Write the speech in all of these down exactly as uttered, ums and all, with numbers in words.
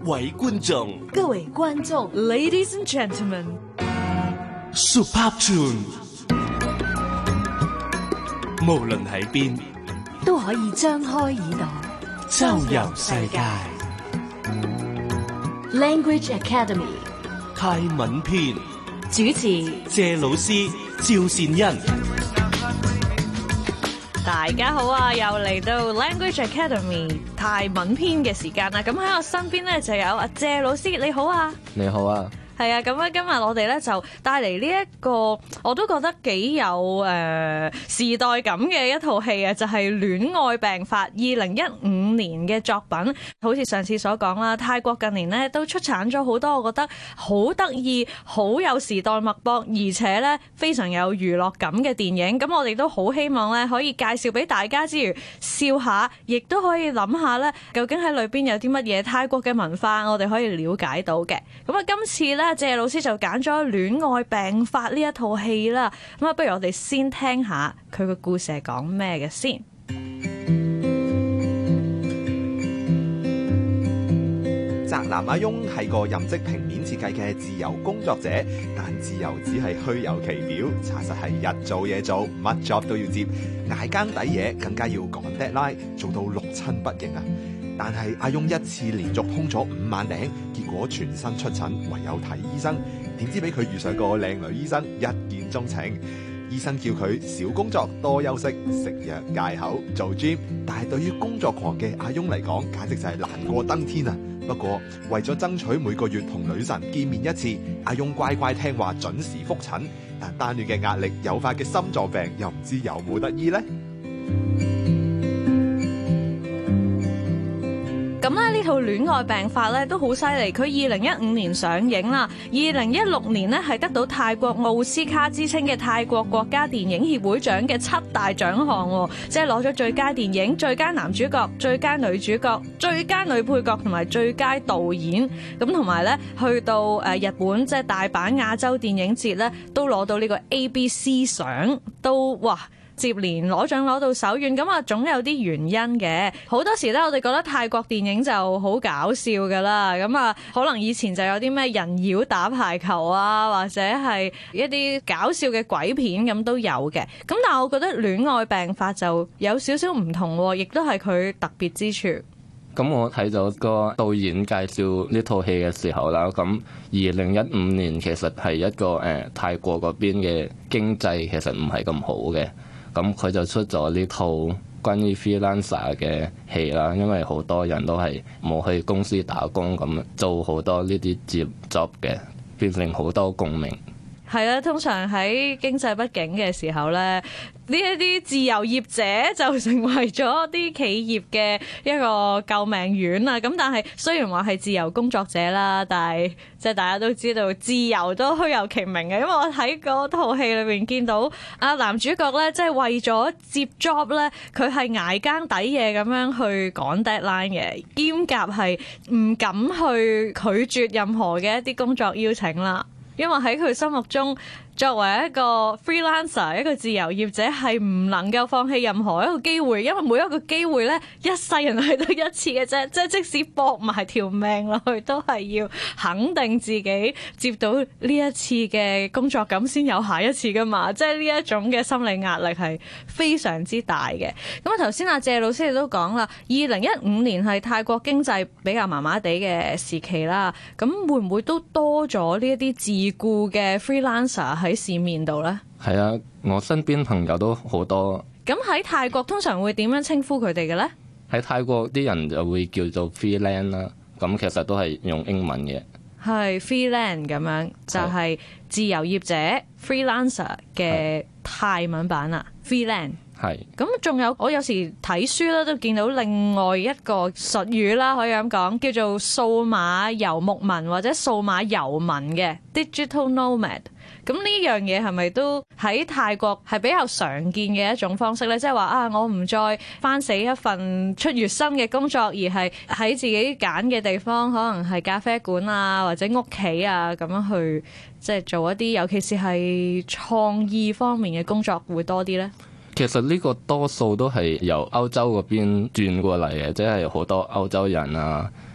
位觀眾， 各位觀眾 ，Ladies and Gentlemen，Super Tune， 無論喺邊都可以張開耳朵周遊世界。 Language Academy 泰文篇主持謝老師趙善恩。 大家好啊，又嚟到 Language Academy 泰文篇嘅時間啦。咁喺我身邊咧就有阿謝老師，你好啊。 你好啊。 係啊，咁咧今日我哋咧就帶嚟呢一個我都覺得幾有誒、呃、時代感嘅一套戲啊，就係、是《戀愛病發》二零一五年嘅作品。好似上次所講啦，泰國近年咧都出產咗好多我覺得好得意、好有時代脈搏，而且咧非常有娛樂感嘅電影。咁我哋都好希望咧可以介紹俾大家之餘笑下，亦都可以諗下咧究竟喺裏邊有啲乜嘢泰國嘅文化我哋可以了解到嘅。咁啊，今次咧謝老師就揀咗《戀愛病發》呢一套戲啦，咁啊，不如我哋先聽下佢個故事係講咩嘅先。 宅男阿翁係個任職平面設計嘅自由工作者，但自由只係虛有其表，查實係日做夜做，乜 job 都要接，捱更抵夜，更加要趕 deadline，做到六親不認啊！但係阿翁一次連續空咗五萬頂，結果全身出疹，唯有睇醫生。點知俾佢遇上個靚女醫生，一見鍾情。醫生叫佢少工作，多休息，食藥戒口，做 gym。但係對於工作狂嘅阿翁嚟講，簡直就係難過登天啊！不過為咗爭取每個月同女神見面一次，阿翁乖乖聽話，準時覆診。但單戀嘅壓力誘發嘅心臟病，又唔知有冇得醫呢？ 咁咧呢套《戀愛病發》咧都好犀利，佢二零一五年上映啦，二零一六年呢係得到泰國奧斯卡之稱嘅泰國國家電影協會獎嘅七大獎項，即係攞咗最佳電影、最佳男主角、最佳女主角、最佳女配角同埋最佳導演。咁同埋咧去到誒日本即係大阪亞洲電影節咧，都攞到呢個 A B C 獎，都哇！接連攞獎攞到手軟，咁啊總有啲原因嘅。好多時咧，我哋覺得泰國電影就好搞笑噶啦，咁啊可能以前就有啲咩人妖打排球啊，或者係一啲搞笑嘅鬼片咁都有嘅。咁但係我覺得《戀愛病發》就有少少唔同，亦都係佢特別之處。 咁我睇咗個導演介紹呢套戲嘅時候啦，咁二零一五年其實係一個誒、呃、泰國嗰邊嘅經濟其實唔係咁好嘅。咁佢就出咗呢套關於 freelancer 嘅戲啦，因為好多人都係冇去公司打工，咁做好多呢啲接 job 嘅，變成好多共鳴。 係啦，通常喺經濟不景嘅時候咧，呢一啲自由業者就成為咗啲企業嘅一個救命丸啊！咁但係雖然話係自由工作者啦，但係即係大家都知道自由都虛有其名嘅，因為我喺嗰套戲裏邊見到啊男主角咧，即係為咗接 job 咧，佢係捱更抵夜咁樣去趕 deadline 嘅，兼夾係唔敢去拒絕任何嘅一啲工作邀請啦。因為喺佢心目中，作為一個 freelancer 一個自由業者係唔能夠放棄任何一個機會，因為每一個機會咧一世人係得一次嘅啫，即係即使搏埋條命落去都係要肯定自己接到呢一次嘅工作咁先有下一次噶嘛，即係呢一種嘅心理壓力係非常之大嘅。咁啊頭先阿謝老師亦都講啦，二零一五年係泰國經濟比較麻麻地嘅時期啦，咁會唔會都多咗呢一啲自僱嘅 freelancer 喺市面度呢？ 係啊，我身邊朋友都好多。 咁喺泰國通常會點樣稱呼佢哋嘅呢？ 喺泰國啲人就會叫做 freelance 啦，咁其實都係用英文嘅。 係 freelance 咁樣，就係、是、自由業者 freelancer 嘅泰文版啊 freelance。係，咁仲有我有時睇書咧，都見到另外一個術語啦，可以咁講，叫做數碼游牧民或者數碼遊民嘅 digital nomad。咁呢樣嘢係咪都喺泰國係比較常見嘅一種方式咧？即係話啊，我唔再返死一份出月薪嘅工作，而係喺自己揀嘅地方，可能係咖啡館啊或者屋企啊咁樣去，即係做一啲，尤其是係創意方面嘅工作會多啲咧。 其實呢個多數都係由歐洲嗰邊轉過嚟嘅，即係好多歐洲人啊，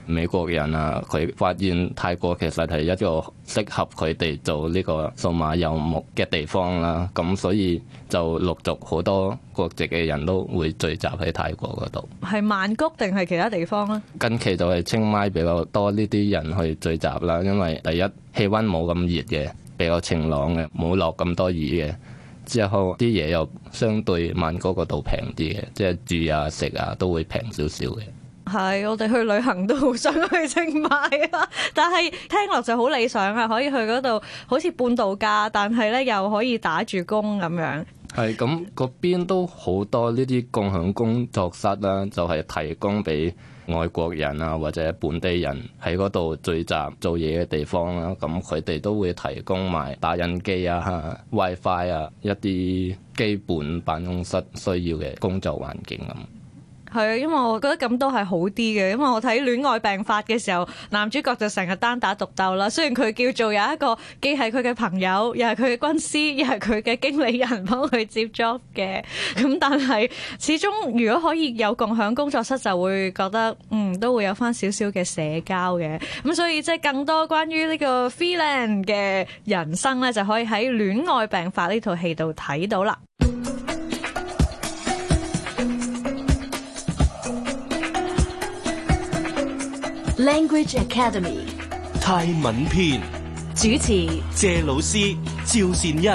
美國人啊，佢發現泰國其實係一個適合佢哋做呢個數碼遊牧嘅地方啦。咁所以就陸續好多國籍嘅人都會聚集喺泰國嗰度。 係曼谷定係其他地方咧？ 近期就係清邁比較多呢啲人去聚集啦，因為第一氣温冇咁熱嘅，比較晴朗嘅，冇落咁多雨嘅。之後啲嘢又相對曼谷嗰度平啲嘅，即係住啊食啊都會平少少嘅。 係，我哋去旅行都好想去清邁啊，但係聽落就好理想啊，可以去嗰度好似半度假，但係咧又可以打住工咁樣。 係咁，嗰邊都好多呢啲共享工作室啦，就係提供俾外國人啊或者本地人喺嗰度聚集做嘢嘅地方啦。咁佢哋都會提供埋打印機啊、WiFi 啊一啲基本辦公室需要嘅工作環境咁。 係啊，因為我覺得咁都係好啲嘅，因為我睇《戀愛病發》嘅時候，男主角就成日單打獨鬥啦。雖然佢叫做有一個既係佢嘅朋友，又係佢嘅軍師，又係佢嘅經理人幫佢接 job 嘅，咁但係始終如果可以有共享工作室，就會覺得嗯都會有翻少少嘅社交嘅。咁所以即係更多關於呢個 freelance 嘅人生咧，就可以喺《戀愛病發》呢套戲度睇到啦。 Language Academy 泰文篇主持謝老師趙善恩。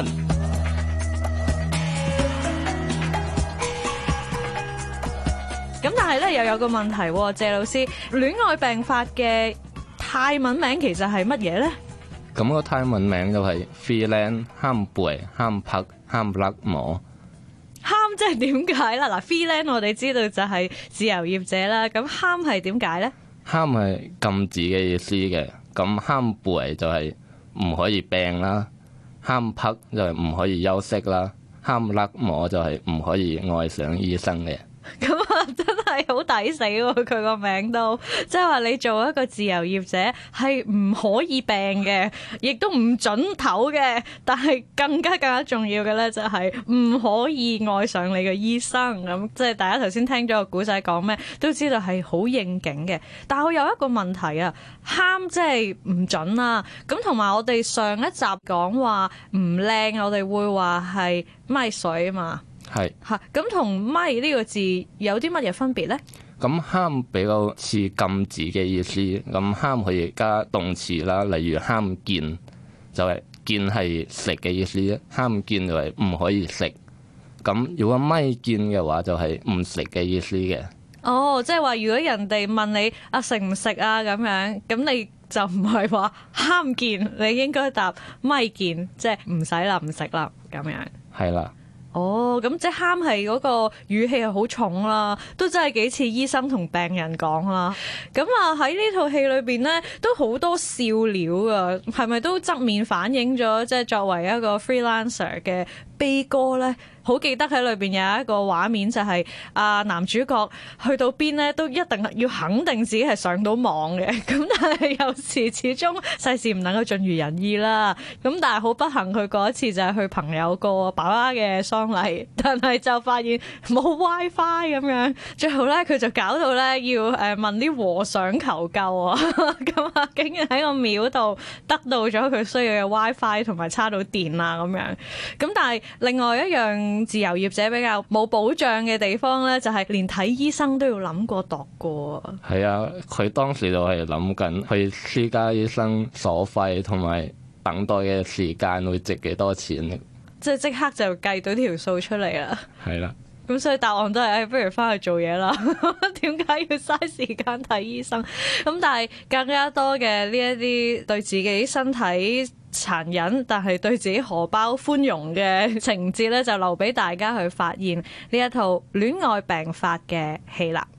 咁但係咧又有個問題，謝老師，戀愛病發嘅泰文名其實係乜嘢咧？ 咁個泰文名就係 freelance ห้ามป่วยห้ามพักห้ามรักหมอ。 ห้าม即係點解啦？嗱 freelance 我哋知道就係自由業者啦，咁ห้าม係點解咧？ ห้าม係禁止嘅意思嘅，咁ห้ามป่วย就係唔可以病啦，ห้ามพัก就係唔可以休息啦，ห้ามรักหมอ就係唔可以愛上醫生嘅。 咁啊，真係好抵死喎！佢個名都即係話你做一個自由業者係唔可以病嘅，亦都唔準唞嘅。但係更加更加重要嘅咧，就係唔可以愛上你嘅醫生。咁即係大家頭先聽咗個古仔講咩，都知道係好應景嘅。但係我有一個問題啊，ห้าม即係唔準啦。咁同埋我哋上一集講話唔靚，我哋會話係咪水啊嘛。 係嚇，咁同咪呢個字有啲乜嘢分別咧？ 咁ห้าม比較似禁止嘅意思，咁ห้าม可以加動詞啦，例如ห้ามกิน，就係見係食嘅意思，ห้ามกิน就係唔可以食。咁如果咪見嘅話，就係唔食嘅意思嘅。 哦，即係話如果人哋問你啊食唔食啊咁樣，咁你就唔係話ห้าม見，你應該答咪見，即係唔使啦，唔食啦咁樣。 係啦。 哦，咁即係ห้าม係嗰個語氣係好重啦，都真係幾似醫生同病人講啦。咁啊喺呢套戲裏邊咧，都好多笑料啊，係咪都側面反映咗即係作為一個 freelancer 嘅悲歌咧？好記得喺裏邊有一個畫面，就係啊男主角去到邊咧，都一定要肯定自己係上到網嘅。咁但係有時始終世事唔能夠盡如人意啦。咁但係好不幸，佢嗰一次就係去朋友個爸爸嘅喪禮，但係就發現冇 WiFi 咁樣，最後咧佢就搞到咧要誒問啲和尚求救啊！咁啊，竟然喺個廟度得到咗佢需要嘅 WiFi 同埋叉到電啊咁樣。咁但係另外一樣自由業者比較冇保障嘅地方咧，就係連睇醫生都要諗過度過。係啊，佢當時就係諗緊去私家醫生所費同埋等待嘅時間會值幾多錢， 即係即刻就計到條數出嚟啦。 係啦。 咁所以答案都係，誒、哎，不如翻去做嘢啦。點解要嘥時間睇醫生？咁但係更加多嘅呢一啲對自己身體殘忍，但係對自己荷包寬容嘅情節咧，就留俾大家去發現呢一套戀愛病發嘅戲啦。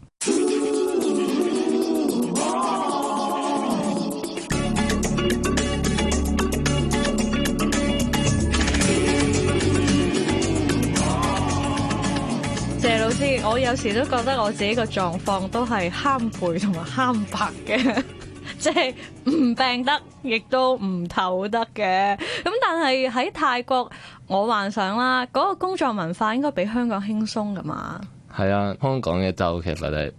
謝老師，我有時都覺得我自己個狀況都係慳背同埋慳白嘅，即係唔病得，亦都唔唞得嘅。咁但係喺泰國，我幻想啦，嗰個工作文化應該比香港輕鬆噶嘛。 係啊，香港嘅就其實係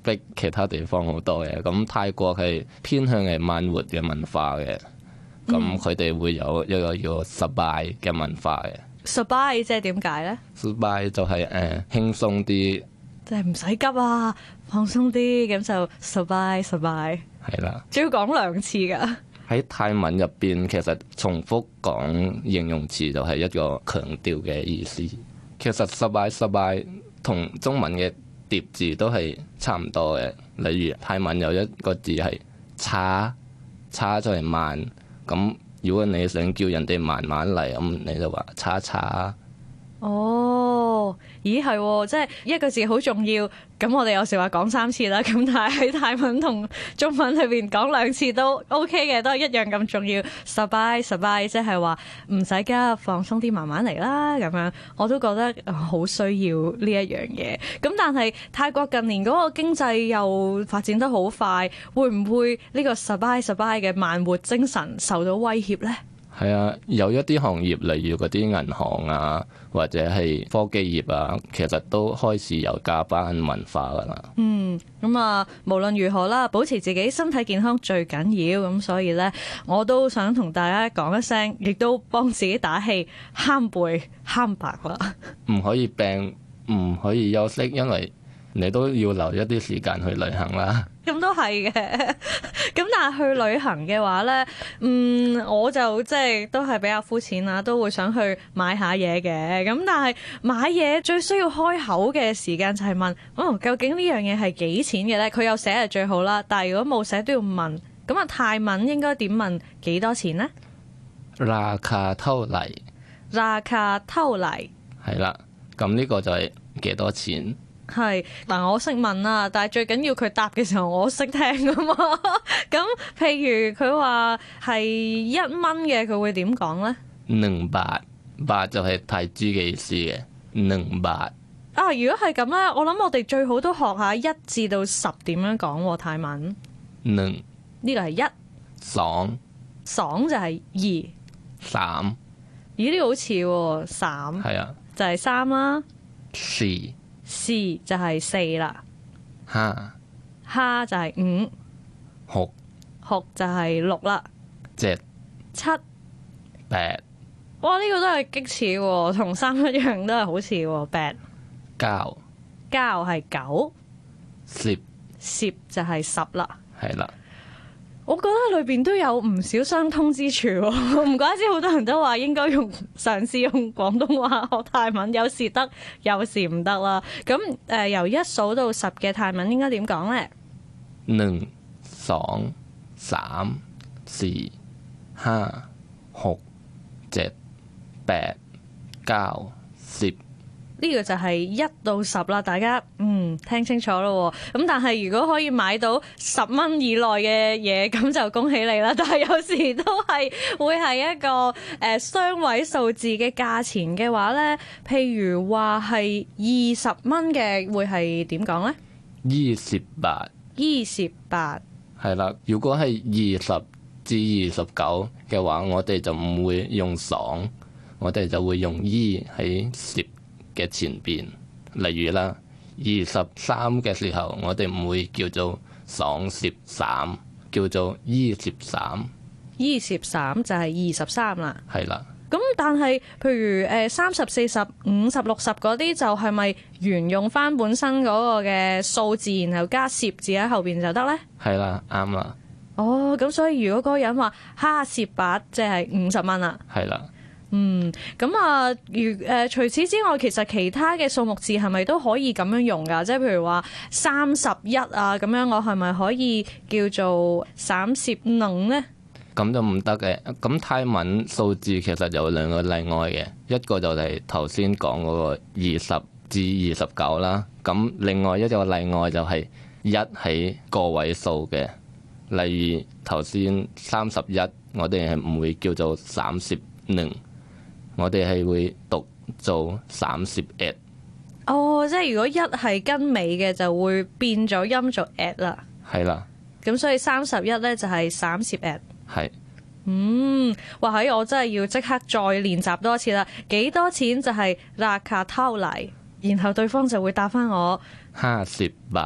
逼其他地方好多嘅。咁泰國係偏向係慢活嘅文化嘅，咁佢哋會有一個叫 Sabai 嘅文化嘅。 Sabai 即係點解咧 ？Sabai 就係誒輕鬆啲， 即係唔使急啊，放鬆啲，咁就 Sabai Sabai。 係啦， 仲要講兩次㗎。 喺泰文入邊，其實重複講形容詞就係一個強調嘅意思。其實 Sabai Sabai 同中文嘅疊字都係差唔多嘅。例如泰文有一個字係差，差就係慢。咁如果你想叫人哋慢慢嚟，咁你就話差差。 哦，咦係喎，即係一個字好重要。咁我哋有時話講三次啦，咁但係喺泰文同中文裏邊講兩次都 OK 嘅，都係一樣咁重要。Sabai Sabai 即係話唔使急，放鬆啲，慢慢嚟啦。咁樣我都覺得好需要呢一樣嘢。咁但係泰國近年嗰個經濟又發展得好快，會唔會呢個 Sabai Sabai 嘅慢活精神受到威脅呢？ 係啊，有一啲行業，例如嗰啲銀行啊，或者係科技業啊，其實都開始有加班文化噶啦。 嗯，咁啊，無論如何啦，保持自己身體健康最緊要。咁所以呢，我都想同大家講一聲，亦都幫自己打氣，慳背慳白啦。 唔可以病，唔可以休息，因為你都要留一啲時間去旅行啦。 咁都係嘅，咁但係去旅行嘅話呢，嗯，我就即係都係比較膚淺啦，都會想去買下嘢嘅。咁但係買嘢最需要開口嘅時間就係問，哦，究竟呢樣嘢係幾錢嘅呢？佢有寫係最好啦，但係如果冇寫都要問。咁啊，泰文應該點問幾多錢呢？ ราคาเท่าไหร่？ ราคาเท่าไหร่？ 係啦，咁呢個就係幾多錢？ 係嗱，我識問啦，但係最緊要佢答嘅時候我識聽啊嘛。咁譬如佢話係一蚊嘅，佢會點講呢？ หนึ่งบาท，บาท就係泰銖嘅意思嘅，หนึ่งบาท。 啊，如果係咁咧，我諗我哋最好都學下一至到十點樣講泰文。 หนึ่ง呢個係一， สอง爽就係二， 三咦呢個好似喎，三係啊， 就係三啦， 四四就係四啦， ห้า蝦就係五， หก六就係六啦， เจ็ด七， แปด哇呢個都係激似喎，同三一樣都係好似喎，八เก้า交係九， 十十就係十啦。 係啦。 我覺得裏邊都有唔少相通之處喎，唔怪之好多人都話應該用嘗試用廣東話學泰文，有時得，有時唔得啦。咁誒、呃、由一數到十嘅泰文應該點講呢？ หนึ่งสองสามสี่ห้าหกเจ็ดแปดเก้าสิบ。 呢個就係一到十啦，大家嗯聽清楚咯。咁但係如果可以買到十蚊以內嘅嘢，咁就恭喜你啦。但係有時都係會係一個誒、呃、雙位數字嘅價錢嘅話呢，譬如話係二十蚊嘅，會係點講呢？ 二十八， 二十八係啦。如果係二十至二十九嘅話，我哋就唔會用爽，我哋就會用依喺十嘅前邊。例如啦，二十三嘅時候，我哋唔會叫做爽十三，叫做依十三。 二十三就係二十三啦。 係啦。 咁但係譬如誒三十、四十、五十、六十嗰啲，就係咪沿用翻本身嗰個嘅數字，然後加十字喺後邊就得呢？ 係啦，啱啦。 哦，咁所以如果嗰個人話哈十八，即係五十蚊啦。 係啦。 嗯，咁啊，如誒、呃、除此之外，其實其他嘅數目字係咪都可以咁樣用㗎？即係譬如話三十一啊，咁樣我係咪可以叫做三十能呢？ 咁就唔得嘅。咁泰文數字其實有兩個例外嘅，一個就係頭先講嗰個二十至二十九啦。咁另外一個例外就係一喺個位數嘅，例如頭先三十一，我哋係唔會叫做三十能。我哋係會讀做三十一。 哦，即係如果一係跟尾嘅，就會變咗音做 at 啦。 係啦。 咁所以三十一咧就係三十 at。 係。 嗯，哇！喺我真係要即刻再練習多次啦。幾多錢就係ราคาเท่าไหร่，然後對方就會答翻我ห้าสิบบาท。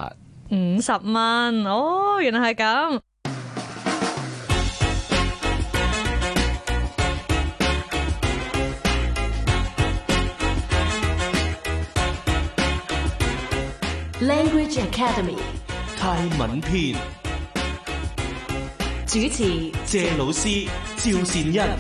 五十蚊。哦，原來係咁。 Language Academy 泰文篇主持謝老師趙善恩。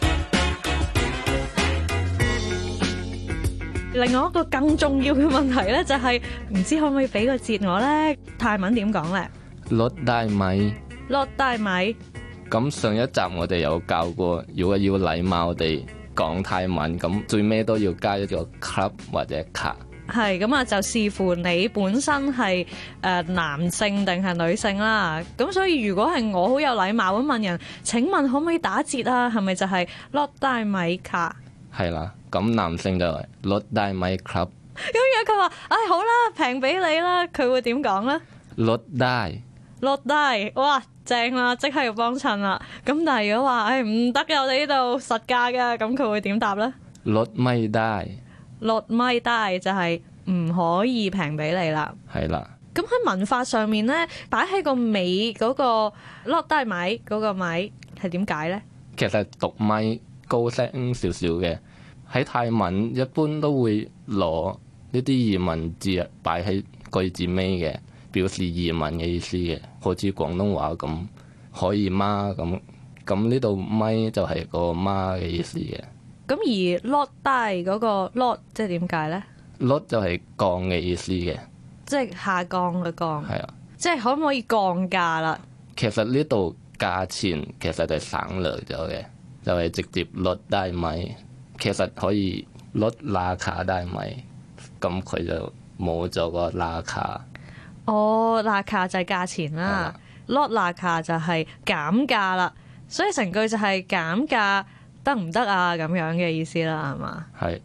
另外一個更重要嘅問題咧，就係唔知可唔可以俾個節我咧？泰文點講咧？ 落大米。 落大米。 咁上一集我哋有教過，如果要禮貌地講泰文，咁最尾都要加一個 club 或者卡。 係咁啊，就視乎你本身係誒男性定係女性啦。咁所以如果係我好有禮貌咁問人，請問可唔可以打折啊？係咪就係落大米卡？ 係啦，咁男性就係落大米 club。 咁如果佢話，唉、哎、好啦，平俾你啦，佢會點講咧？ 落大。 落大，哇正啦，即刻要幫襯啦。咁但係如果話，唉唔得嘅，我哋呢度實價嘅，咁佢會點答咧？ 落咪大。 落咪大就係唔可以平俾你啦。 係啦。 咁喺文化上面咧，擺喺個尾嗰個落大米嗰個米係點解咧？ 其實讀咪高聲少少嘅，喺泰文一般都會攞呢啲移民字擺喺句子尾嘅，表示移民嘅意思嘅，好似廣東話咁可以嗎咁。咁呢度咪就係個媽嘅意思嘅。 咁而落大嗰個落即係點解咧？落就係降嘅意思嘅， 即係下降嘅降。 係啊， 即係可唔可以降價啦？ 其實呢度價錢其實就係省略咗嘅，就係、是、直接落大米。其實可以落拉卡大米，咁佢就冇咗個拉卡。 哦，拉卡就係價錢啦，落拉卡就係減價啦。所以成句就係減價得唔得啊？咁樣嘅意思啦，係嘛？ 係。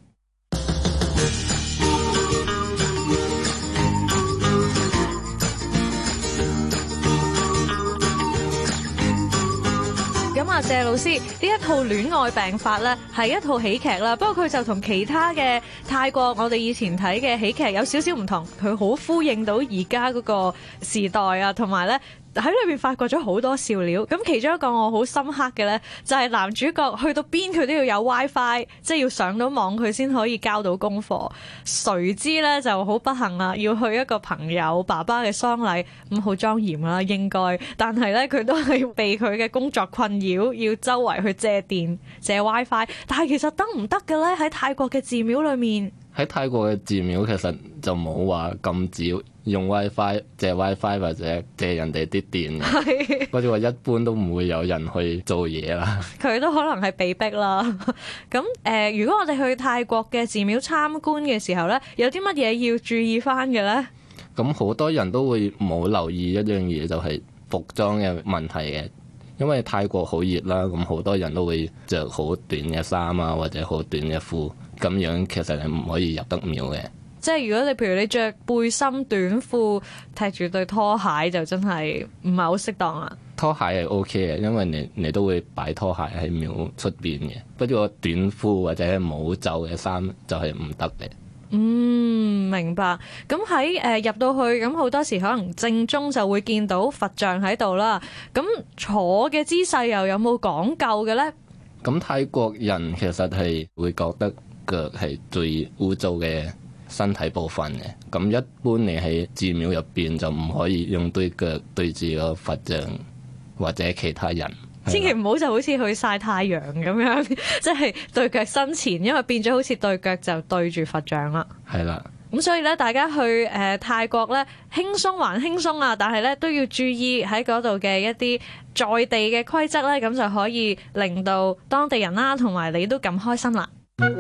咁啊，謝老師呢一套戀愛病法咧係一套喜劇啦，不過佢就同其他嘅泰國我哋以前睇嘅喜劇有少少唔同，佢好呼應到而家嗰個時代啊，同埋咧喺裏邊發掘咗好多笑料。咁其中一個我好深刻嘅咧，就係男主角去到邊佢都要有 WiFi， 即係要上到網佢先可以交到功課。誰知咧就好不幸啦，要去一個朋友爸爸嘅喪禮，咁好莊嚴啦應該，但係咧佢都係被佢嘅工作困擾，要周圍去借電借 WiFi。但係其實得唔得嘅咧？喺泰國嘅寺廟裏面， 喺泰國嘅寺廟其實就冇話禁止用 WiFi 借 WiFi 或者借人哋啲電，嗰啲話一般都唔會有人去做嘢啦。佢都可能係被逼啦。咁誒、呃，如果我哋去泰國嘅寺廟參觀嘅時候咧，有啲乜嘢要注意翻嘅咧？咁好多人都會冇留意一樣嘢，就係服裝嘅問題嘅。因為泰國好熱啦，咁好多人都會着好短嘅衫啊，或者好短嘅褲，咁樣其實係唔可以入得廟嘅。即係如果你譬如你着背心短褲踢住對拖鞋，就真係唔係好適當啦。拖鞋係 OK 嘅，因為你你都會擺拖鞋喺廟出邊嘅。不過短褲或者冇袖嘅衫就係唔得嘅。嗯，明白。咁喺誒入到去，咁好多時可能正中就會見到佛像喺度啦。咁坐嘅姿勢又有冇講究嘅咧？咁泰國人其實係會覺得腳係最污糟嘅身體部分嘅。咁一般你喺寺廟入邊就唔可以用對腳對住個佛像或者其他人。千祈唔好就好似去曬太陽咁樣，即係對腳伸前，因為變咗好似對腳就對住佛像啦。係啦，咁所以咧，大家去誒、呃、泰國咧，輕鬆還輕鬆啊，但係咧都要注意喺嗰度嘅一啲在地嘅規則咧，咁就可以令到當地人啦同埋你都咁開心啦。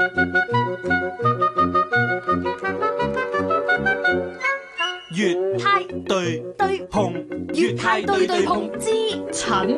粵泰對對碰，粵泰對對碰之陳。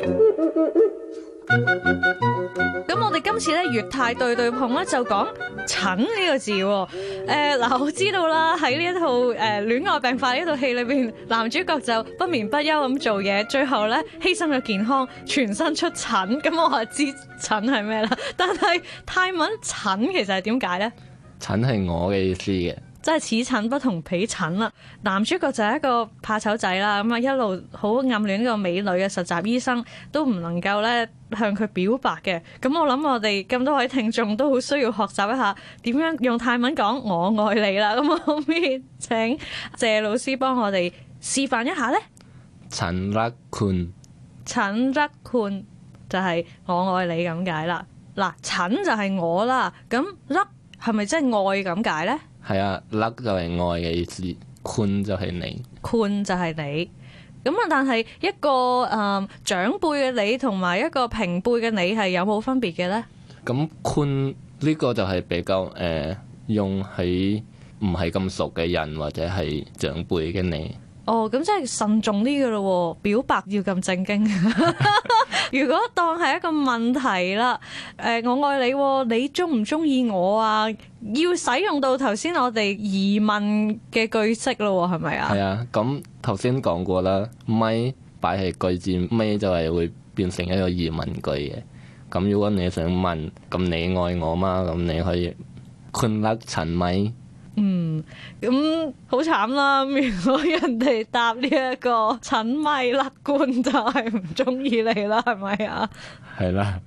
咁我哋今次咧粵泰對對碰咧就講陳呢個字。誒、呃、嗱，我知道啦，喺呢一套誒戀愛病法呢套戲裏邊，男主角就不眠不休咁做嘢，最後咧犧牲咗健康，全身出疹。咁我就知疹係咩啦。但係泰文疹其實係點解咧？疹係我嘅意思嘅。 真係此疹不同彼疹啦。男主角就係一個怕醜仔啦，咁啊一路好暗戀呢個美女嘅實習醫生，都唔能夠咧向佢表白嘅。咁我諗我哋咁多位聽眾都好需要學習一下點樣用泰文講我愛你啦。咁可唔可以請謝老師幫我哋示範一下呢？ 陳รักคุณ陳รักคุณ就係我愛你咁解啦。嗱，陳就係我啦，咁รัก係咪真係愛咁解呢？ 係啊，รัก就係愛嘅意思，คุณ就係你， คุณ就係你。咁啊，但係一個誒、呃、長輩嘅你同埋一個平輩嘅你係有冇分別嘅呢？ 咁คุณ呢個就係比較誒、呃、用喺唔係咁熟嘅人或者係長輩嘅你。 哦，咁即係慎重啲嘅咯，表白要咁正經。如果當係一個問題啦，誒、呃，我愛你，你中唔中意我啊？要使用到頭先我哋疑問嘅句式咯，係咪啊？ 係啊，咁頭先講過啦，咪擺喺句子尾就係會變成一個疑問句嘅。咁如果你想問，咁你愛我嗎？咁你可以คุณรักฉันไหม？ 嗯，咁好慘啦！如果人哋答呢一個陳咪勒官，就係唔中意你啦，係咪啊？ 係啦。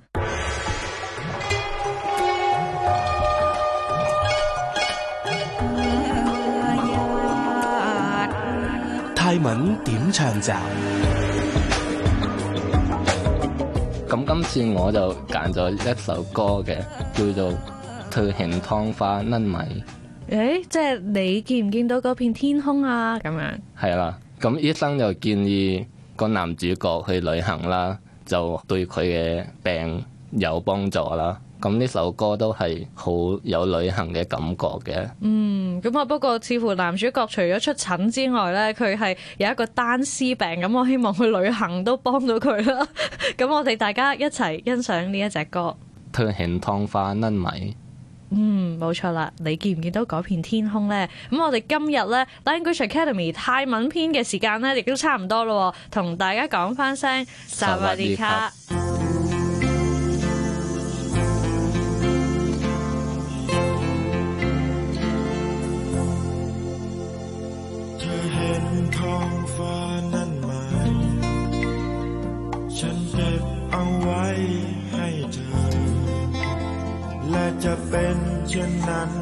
泰文點唱集？ 咁今次我就揀咗一首歌嘅，叫做《เธอเห็นท้องฟ้านั่นไหม》。 誒，即係你見唔見到嗰片天空啊？咁樣係啦，咁醫生就建議個男主角去旅行啦，就對佢嘅病有幫助啦。咁呢首歌都係好有旅行嘅感覺嘅。 嗯，咁啊不過似乎男主角除咗出疹之外咧，佢係有一個單絲病，咁我希望去旅行都幫到佢啦。咁我哋大家一齊欣賞呢一隻歌。 เธอเห็นท้องฟ้านั่นไหม？ 嗯，冇錯啦，你見唔見到嗰片天空呢？咁我哋今日呢 Language Academy 泰文篇嘅時間呢，亦都差唔多咯，同大家講翻聲薩瓦迪卡。 เธอเห็นท้องฟ้านั่นไหมฉันเก็บเอาไว้ให้เธอและจะเป็นเช่นนั้น